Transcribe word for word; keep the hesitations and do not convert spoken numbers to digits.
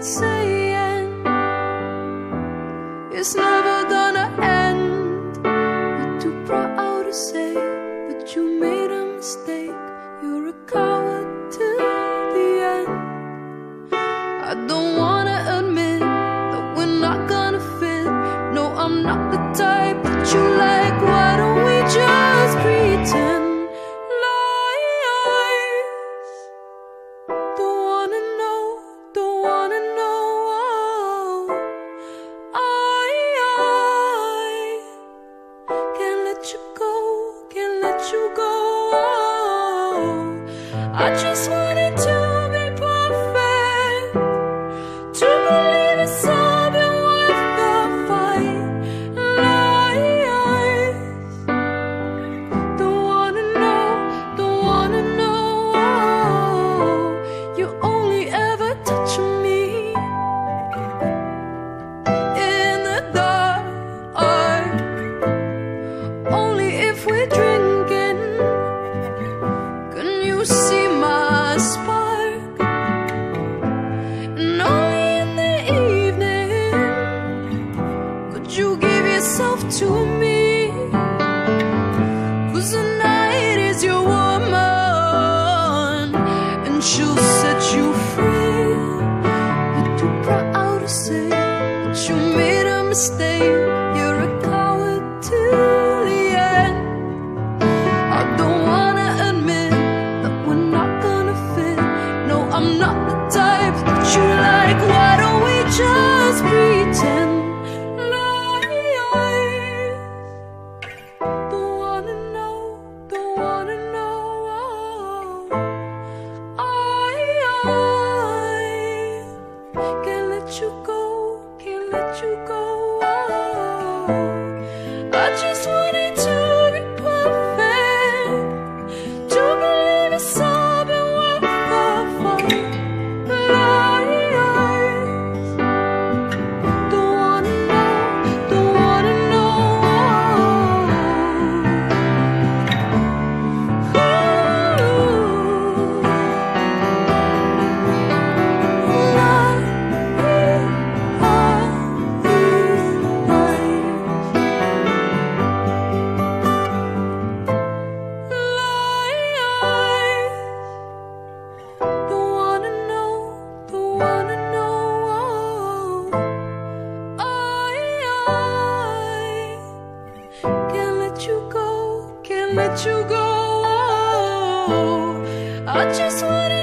been saying it's never gonna end. You're too proud to say that you made a mistake. You're a coward to the end. I don't wanna admit that we're not gonna fit. No, I'm not the type that you like. Why don't we just pretend? I just wanted to be perfect, to believe it's all been worth the fight. Lies, don't wanna know, don't wanna know. You only ever touch me in the dark, only if we're drinking. Can you see spark? And only in the evening could you give yourself to me. 'Cause the night is your woman, and she'll set you free. You're too proud to say that you made a mistake. You're a coward to the end. I don't wanna admit that we're not I'm not the type that you like. Why don't we just pretend? Lies, don't wanna know, don't wanna know. I, I can't let you go, can't let you go. I just wanted to be perfect, to believe it's all been worth the fight. Let you go. I just wanna